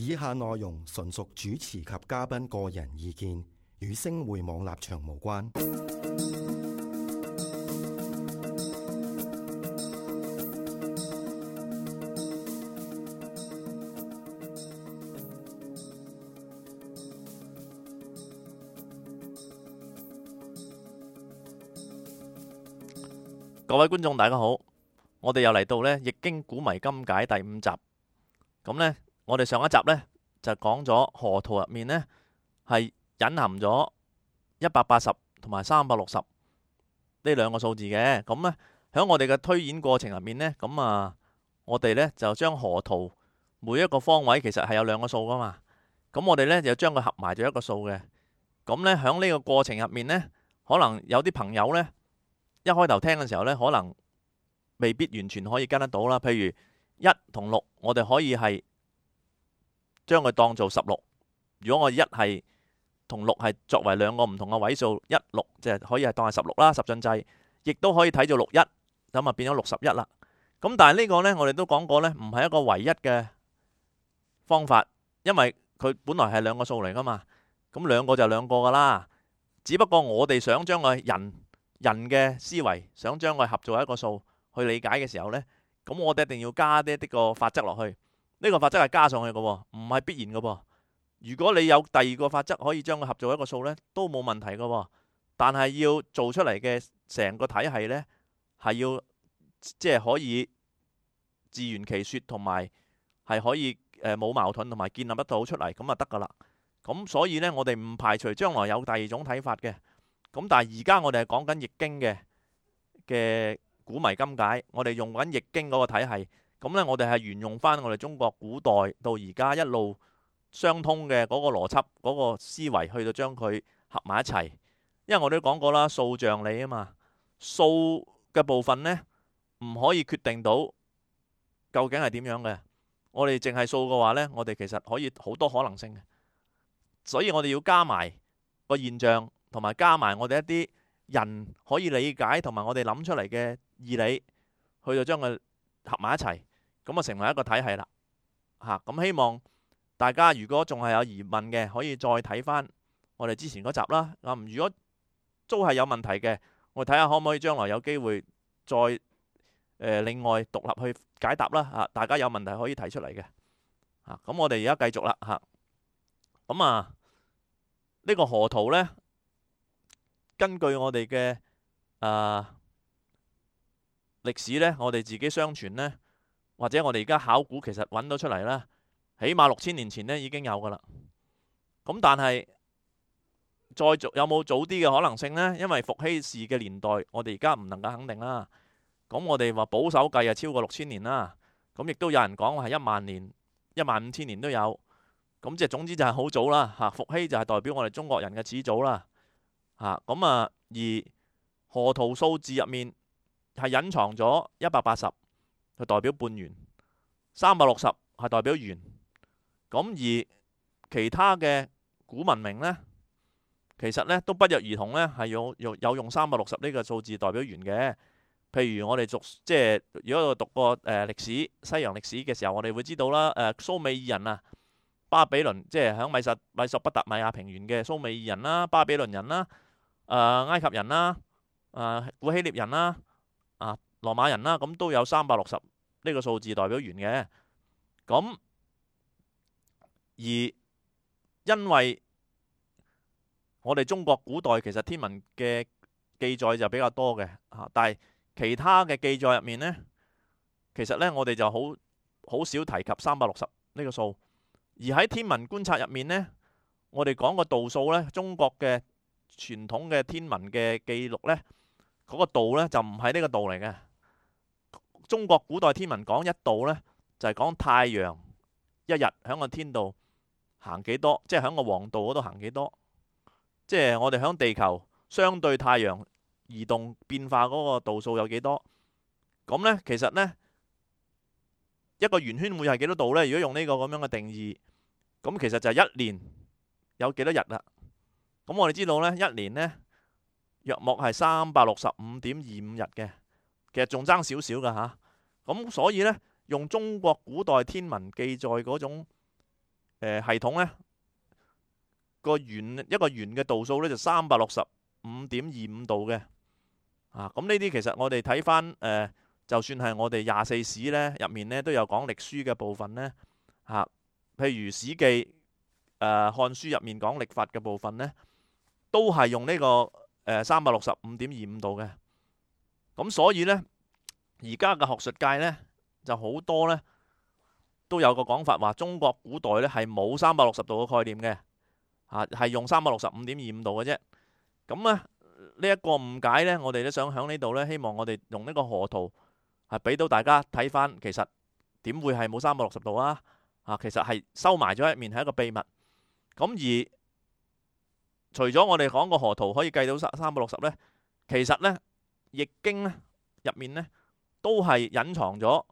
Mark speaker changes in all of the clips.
Speaker 1: 以下內容純屬主持及嘉賓個人意見，與星匯網立場無關。
Speaker 2: 各位觀眾大家好，我哋又嚟到呢《易經古謎今解》第5集。咁呢，我哋上一集呢就講咗河圖入面呢係隱含咗180同埋360呢兩個數字嘅。咁呢，喺我哋嘅推演過程入面呢，我哋呢就將河圖每一個方位其實係有兩個數噶嘛。咁我哋呢就將佢合埋咗一個數嘅。咁呢，喺呢個過程入面呢，可能有啲朋友呢，一開頭聽嘅時候呢，可能未必完全可以跟得到啦。譬如1同6，我哋可以係將佢當做16。如果我1係同6係作為兩個唔同嘅位數，1、6就可以係當係16啦，十進制，亦都可以睇做61，咁啊變咗61啦。咁但係呢個呢，我哋都講過呢，唔係一個唯一嘅方法，因為佢本來係兩個數嚟噶嘛。咁兩個就兩個噶啦，只不過我哋想將個人嘅思維想將佢合做一個數去理解嘅時候呢，咁我哋一定要加啲個法則落去。呢個法則係加上去嘅，唔係必然嘅。如果你有第二個法則可以將佢合做一個數呢，都冇問題嘅。但係要做出嚟嘅成個體系呢，係要即係可以自圓其說，同埋係可以冇矛盾，同埋建立得到出嚟，咁就得噶啦。咁所以呢，我哋唔排除將來有第二種睇法嘅。咁但係而家我哋係講緊易經嘅古謎今解，我哋用緊易經嗰個體系。咁呢，我哋係沿用翻我哋中國古代到而家一路相通嘅嗰個邏輯、嗰個思維，去到將佢合埋一齊。因為我哋都講過啦，數象理啊嘛，數嘅部分呢，唔可以決定到究竟係點樣嘅。我哋淨係數嘅話呢，我哋其實可以好多可能性嘅。所以我哋要加埋個現象，同埋加埋我哋一啲人可以理解同埋我哋諗出嚟嘅義理，去到將佢合埋一齊，咁啊成為一個體系啦。咁希望大家如果仲係有疑問嘅，可以再睇翻我哋之前嗰集啦。如果都係有問題嘅，我哋睇下可唔可以將來有機會再另外獨立去解答啦。大家有問題可以提出嚟嘅。咁我哋而家繼續啦。呢個河圖呢，根據我哋嘅歷史呢，我哋自己相傳呢，或者我哋而家考古其實揾到出嚟啦，起碼6000年前呢已經有噶啦。咁但係有冇早啲嘅可能性呢？因為伏羲氏嘅年代，我哋而家唔能夠肯定啦。咁我哋話保守計啊，超過6000年啦。咁亦都有人講係10000年、15000年都有。咁即係總之就係好早啦。伏羲就係代表我哋中國人嘅始祖啦。而河圖數字入面係隱藏咗180，係代表半圓；360係代表圓。咁而其他嘅古文明呢，其實呢都不約而同呢係有用360呢個數字代表圓嘅。譬如我哋如果我讀過歷史、西洋歷史嘅時候，我哋會知道啦。蘇美爾人啊，巴比倫即係喺米索不達米亞平原嘅蘇美爾人啦、巴比倫人啦、埃及人啦、古希臘人啦、羅馬人啦，咁都有360呢個數字代表圓嘅。咁而因為我哋中國古代其實天文嘅記載就比較多嘅，但係其他嘅記載入面呢，其實呢我哋就好少提及360呢個數。而喺天文觀察入面呢，我哋講個度數呢，中國嘅傳統嘅天文嘅記錄呢，嗰個度呢就唔係呢個度嚟嘅。中國古代天文講一度呢，就係講太陽一日喺個天度行幾多，即係喺個黃道嗰度行幾多，即係我哋喺地球相對太陽移動變化嗰個度數有幾多。咁呢，其實呢，一個圓圈會係幾多度呢？如果用呢個咁樣嘅定義，咁其實就係一年有幾多日啦。咁我哋知道呢，一年呢，約莫係365.25日嘅，其實仲爭少少噶吓。咁所以呢，用中國古代天文記載嗰種系統呢，一個圓嘅度數呢，就365.25度嘅。咁呢啲其實我哋睇翻就算係我哋24史呢入面呢，都有講曆書嘅部分呢。譬如史記、漢書入面講曆法嘅部分呢，都係用呢個365.25度嘅。咁所以呢，而家嘅學術界呢，就好多呢都有個講法話，中國古代呢係冇360度嘅概念嘅，係用365.25度嘅啫。咁呢一個誤解呢，我哋都想喺呢度呢，希望我哋用呢個河圖係俾到大家睇翻，其實點會係冇360度啊？其實係收埋咗一面，係一個秘密。咁而除咗我哋講個河圖可以計到360呢，其實呢易經呢入面呢都係隱藏咗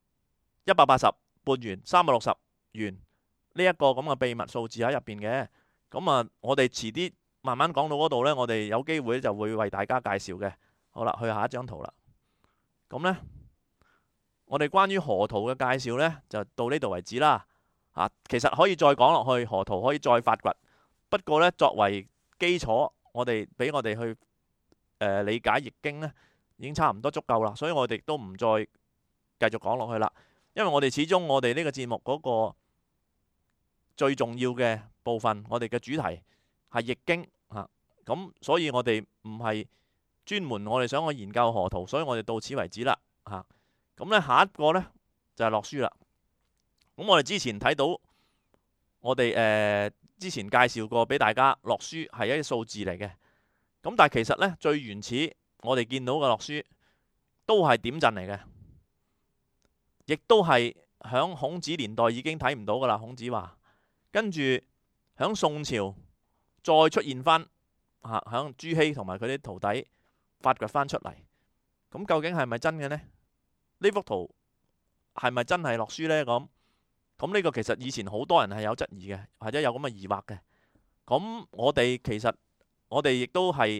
Speaker 2: 180半圓、360圓呢一個咁嘅秘密數字喺入邊嘅。咁我哋遲啲慢慢講到嗰度呢，我哋有機會就會為大家介紹嘅。好啦，去下一張圖啦。咁呢，我哋關於河圖嘅介紹呢，就到呢度為止啦。其實可以再講落去，河圖可以再發掘。不過呢，作為基礎，俾我哋去理解易經呢，已經差唔多足夠啦。所以我哋都唔再繼續講落去啦。因為我哋始終我哋呢個節目嗰個最重要嘅部分，我哋嘅主題係易經咁，所以我哋唔係專門我哋想去研究河圖，所以我哋到此為止啦。咁呢，下一個呢，就係洛書啦。咁我哋之前睇到，我哋之前介紹過俾大家，洛書係一啲數字嚟嘅。咁但係其實呢，最原始我哋見到嘅洛書都係點陣嚟嘅，亦都係響孔子年代已經睇唔到噶啦。孔子話，跟住響宋朝再出現翻，響朱熹同埋佢啲徒弟發掘翻出嚟。咁究竟係咪真嘅呢？呢幅圖係咪真係洛書呢？咁呢個其實以前好多人係有質疑嘅，或者有咁嘅疑惑嘅。咁我哋亦都係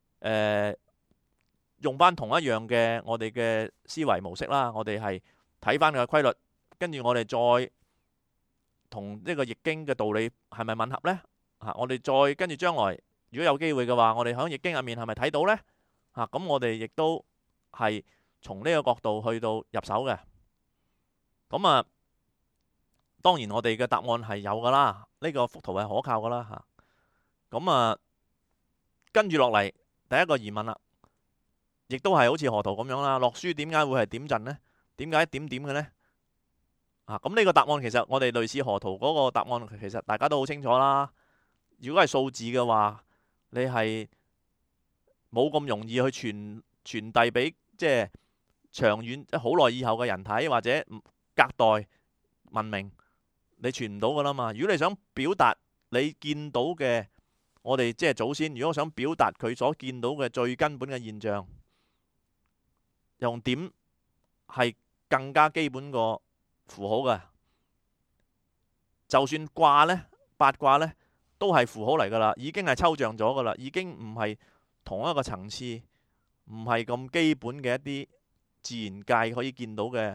Speaker 2: 用翻同一樣嘅我哋嘅思維模式啦。我哋係睇翻佢嘅規律，跟住我哋再同呢個易經嘅道理係咪吻合呢？我哋再跟住將來如果有機會嘅話，我哋喺易經入面係咪睇到呢？咁我哋亦都係從呢個角度去到入手嘅。咁當然我哋嘅答案係有噶啦，呢個幅圖係可靠噶啦。咁跟住落嚟第一個疑問啦，亦都係好似河圖咁樣啦。洛書點解會係點陣呢？點解點點嘅呢？咁呢個答案其實我哋類似河圖嗰個答案，其實大家都好清楚啦。如果係數字嘅話，你係冇咁容易去傳遞俾即係長遠好耐以後嘅人睇，或者隔代文明，你傳唔到噶啦嘛。如果你想表達你見到嘅，我哋即係祖先，如果想表達佢所見到嘅最根本嘅現象，用點係更加基本個符號嘅。就算卦呢，八卦呢，都係符號嚟噶啦，已經係抽象咗噶啦，已經唔係同一個層次，唔係咁基本嘅一啲自然界可以見到嘅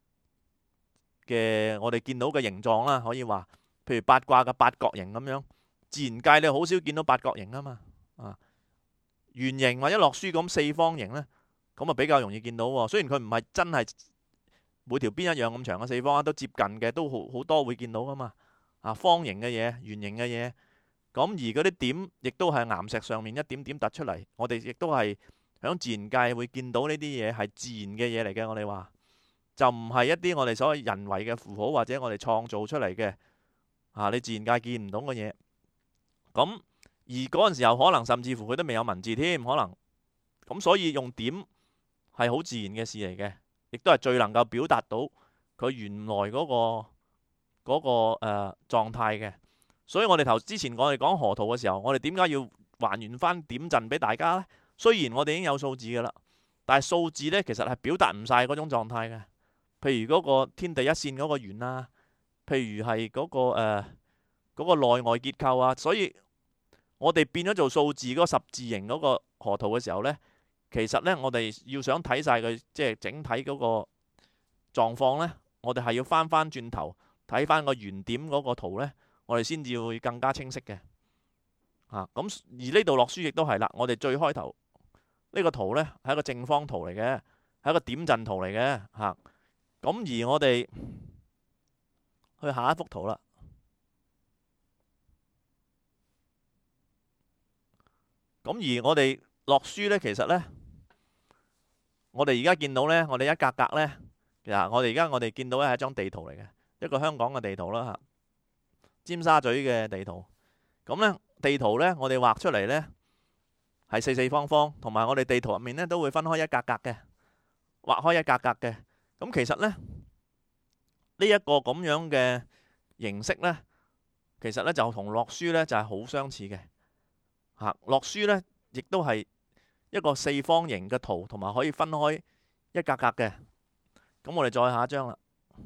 Speaker 2: 我哋見到嘅形狀啦。可以話，譬如八卦嘅八角形咁樣，自然界你好少見到八角形啊嘛。圓形或者洛書咁四方形呢，咁比較容易見到喎。雖然佢唔係真係每條邊一樣咁長嘅四方，都接近嘅，都好多會見到噶嘛。方形嘅嘢、圓形嘅嘢，咁而嗰啲點亦都係岩石上面一點點突出嚟。我哋亦都係響自然界會見到呢啲嘢係自然嘅嘢嚟嘅。我哋話就唔係一啲我哋所謂人為嘅符號，或者我哋創造出嚟嘅你自然界見唔到嘅嘢。咁而嗰陣時候可能甚至乎佢都未有文字添，可能咁，所以用點係好自然嘅事嚟嘅，亦都係最能夠表達到佢原來嗰個狀態嘅。所以我哋之前我哋講河圖嘅時候，我哋點解要還原翻點陣俾大家呢？雖然我哋已經有數字噶啦，但係數字呢，其實係表達唔晒嗰種狀態嘅。譬如嗰個天地一線嗰個圓啊，譬如係嗰個內外結構啊，所以我哋變咗做數字嗰個十字形嗰個河圖嘅時候呢，其實呢，我哋要想睇晒佢即係整體嗰個狀況呢，我哋係要翻轉頭睇翻個原點嗰個圖呢，我哋先至會更加清晰嘅。咁而呢度落書亦都係啦，我哋最開頭呢個圖呢係一個正方圖嚟嘅，係一個點陣圖嚟嘅。咁而我哋去下一幅圖啦。咁而我哋落書呢，其實呢，我哋而家見到呢，我哋一格格呢，其實我哋見到呢係一張地圖嚟嘅，一個香港嘅地圖啦，尖沙咀嘅地圖。咁呢地圖呢，我哋畫出嚟呢係四四方方，同埋我哋地圖入面呢都會分開一格格嘅，畫開一格格嘅。咁其實呢，呢一個咁樣嘅形式呢，其實呢就同落書呢就係好相似嘅。落書呢亦都係一個四方形嘅圖，同埋可以分開一格格嘅。咁我哋再下一張啦。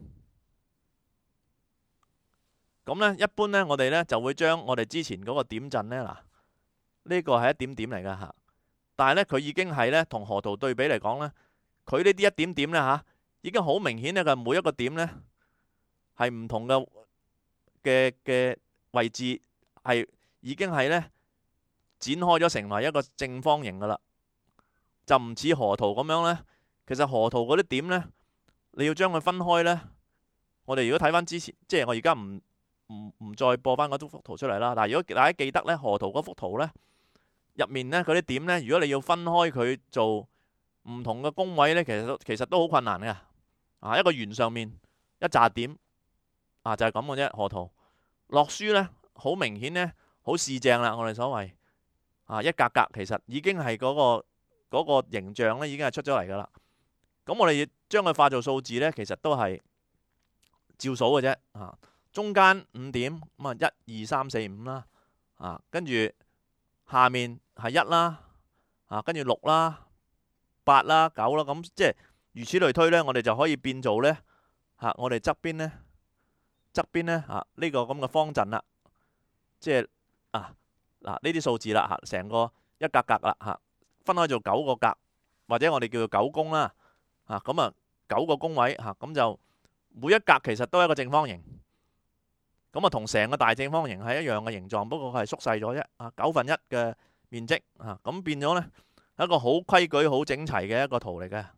Speaker 2: 咁呢一般呢，我哋呢就會將我哋之前嗰個點陣呢，嗱，呢個係一點點嚟㗎。但係呢，佢已經係呢同河圖對比嚟講呢，佢呢啲一點點呢，已經好明顯呢，佢每一個點呢係唔同嘅位置，係已經係呢展開咗成為一個正方形㗎啦，就唔似河圖咁樣呢。其實河圖嗰啲點呢，你要將佢分開呢。我哋如果睇翻之前，即係我而家唔再播翻嗰幅圖出嚟啦。但係如果大家記得呢，河圖嗰幅圖呢，入面呢嗰啲點呢，如果你要分開佢做唔同嘅宮位呢，其實都好困難嘅。一個圓上面一紮點，就係咁嘅啫。河圖落書呢，好明顯呢，好四正啦。我哋所謂一格格，其實已經係嗰個形象呢，已經係出咗嚟噶啦。咁我哋將佢化做數字呢，其實都係照數嘅啫。中間5點，咁啊1、2、3、4、5啦。跟住下面係1啦，跟住6啦、8啦、9啦，咁即係如此類推呢，我哋就可以變做呢，我哋側邊呢呢個咁嘅方陣啦，即係呢啲數字啦，成個一格格啦，分開做9個格，或者我哋叫做9宮啦。咁9個宮位，咁就每一格其實都係一個正方形。咁同成個大正方形係一樣嘅形狀，不過佢係縮細咗啫。1/9嘅面積，咁變咗呢，係一個好規矩、好整齊嘅一個圖嚟嘅。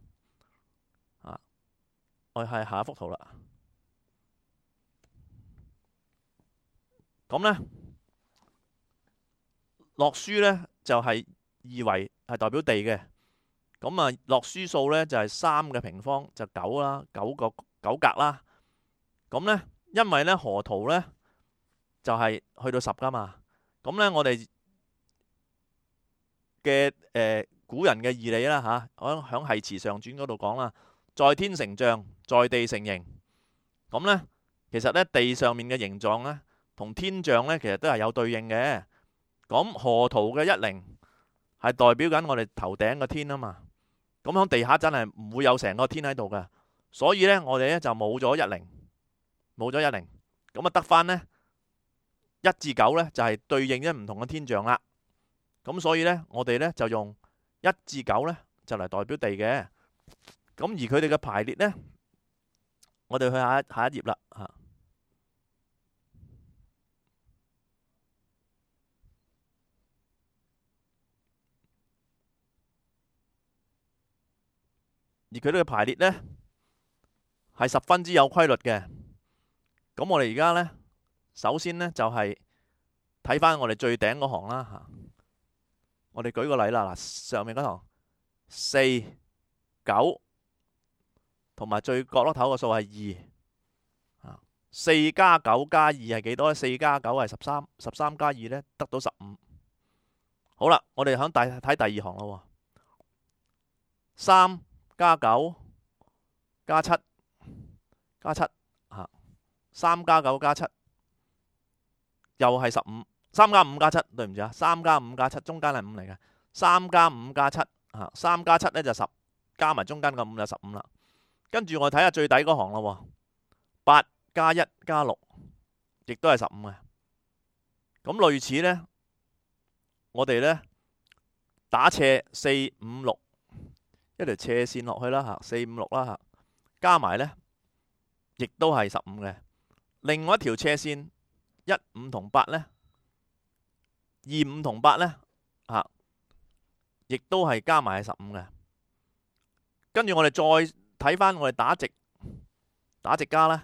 Speaker 2: 我係下一幅圖啦。咁呢，落書呢就係二維，係代表地嘅。咁落書數呢就係3嘅平方，就9啦，9格啦。咁呢，因為呢河圖呢就係去到10噶嘛。咁呢，我哋嘅古人嘅義理啦，響《繫辭上傳》嗰度講啦，在天成象，在地成形。咁呢，其實呢地上面嘅形狀呢，同天象呢其實都係有對應嘅。咁河圖嘅10係代表緊我哋頭頂嘅天啊嘛。咁響地下真係唔會有成個天喺度嘅，所以呢，我哋呢就冇咗10，冇咗10，咁得翻呢1至9呢就係對應咗唔同嘅天象啦。咁所以呢，我哋呢就用1至9呢就嚟代表地嘅。咁而佢哋嘅排列呢，我哋去下一頁啦。而佢哋嘅排列呢，係十分之有規律嘅。咁我哋而家呢，首先呢，就係睇翻我哋最頂嗰行啦。我哋舉個例啦，上面嗰行4、9，同埋最角落頭個數係2。4加9加2係幾多呢？4加9係13，13加2呢得到15。好啦，我哋睇第二行咯。3加9加7加7，3加9加7又係15。3加5加7，對唔住，3加5加7中間係5嚟嘅。3加5加7，3加7呢就10，加埋中間個5就15啦。跟住我睇下最底嗰行咯。8加1加6，亦都係15嘅。咁類似呢，我哋呢打斜4、5、6。一條斜線落去啦，4、5、6啦，加埋呢亦都係15嘅。 另外一條斜線15同8呢，25同8呢，亦都係加埋係15嘅。跟住我哋再睇翻我哋打直加啦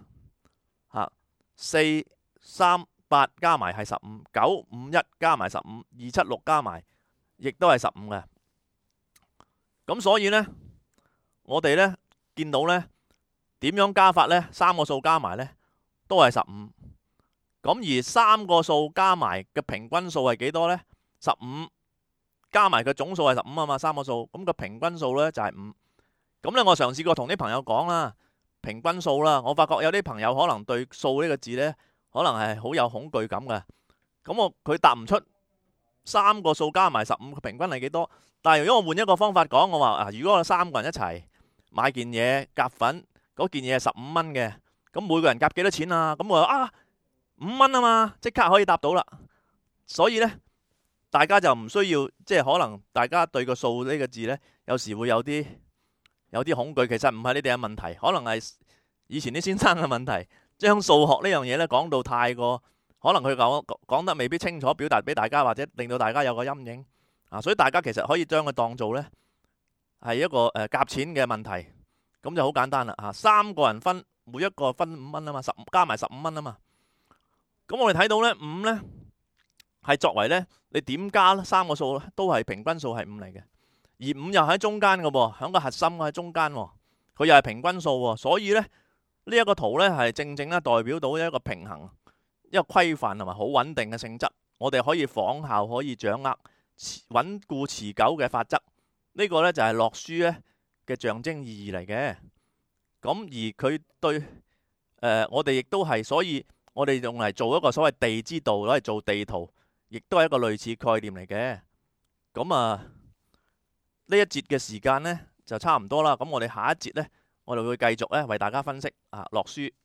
Speaker 2: ，4、3、8加埋係15，9、5、1加埋15，2、7、6加埋亦都係15嘅。咁所以呢，我哋呢見到呢點樣加法呢？三個數加埋呢都係15。咁而三個數加埋嘅平均數係幾多呢？15加埋嘅總數係15啊嘛，三個數，咁個平均數呢就係5。咁呢，我嘗試過同啲朋友講啦，平均數啦，我發覺有啲朋友可能對數呢個字呢，可能係好有恐懼感嘅。咁佢答唔出三個數加埋15嘅平均係幾多？但係如果我換一個方法講，我話如果我3個人一齊買件嘢夾份，嗰件嘢係15蚊嘅，咁每個人夾幾多錢啊？咁我話5蚊啊嘛，即刻可以答到啦。所以呢，大家就唔需要即係可能大家對個數呢個字呢，有時會有啲恐懼。其實唔係你哋嘅問題，可能係以前啲先生嘅問題，將數學呢樣嘢呢講到太過，可能佢講得未必清楚，表達俾大家，或者令到大家有個陰影。所以大家其實可以將佢當做呢係一個夾錢嘅問題，咁就好簡單啦。3個人分，每一個分5蚊啊嘛，加埋15蚊啊嘛。咁我哋睇到呢5呢係作為呢，你點加三個數都係平均數係5嚟嘅，而5又喺中間嘅喎，喺個核心喺中間喎，佢又係平均數喎。所以呢，呢一個圖呢係正正咧代表到一個平衡、一個規範同埋好穩定嘅性質。我哋可以仿效，可以掌握穩固持久嘅法則。呢個呢就係洛書呢嘅象徵意義嚟嘅。咁而佢對我哋亦都係，所以我哋用嚟做一個所謂地之道，攞嚟做地圖，亦都係一個類似概念嚟嘅。咁呢一節嘅時間呢就差唔多啦。咁我哋下一節呢，我哋會繼續呢為大家分析洛書。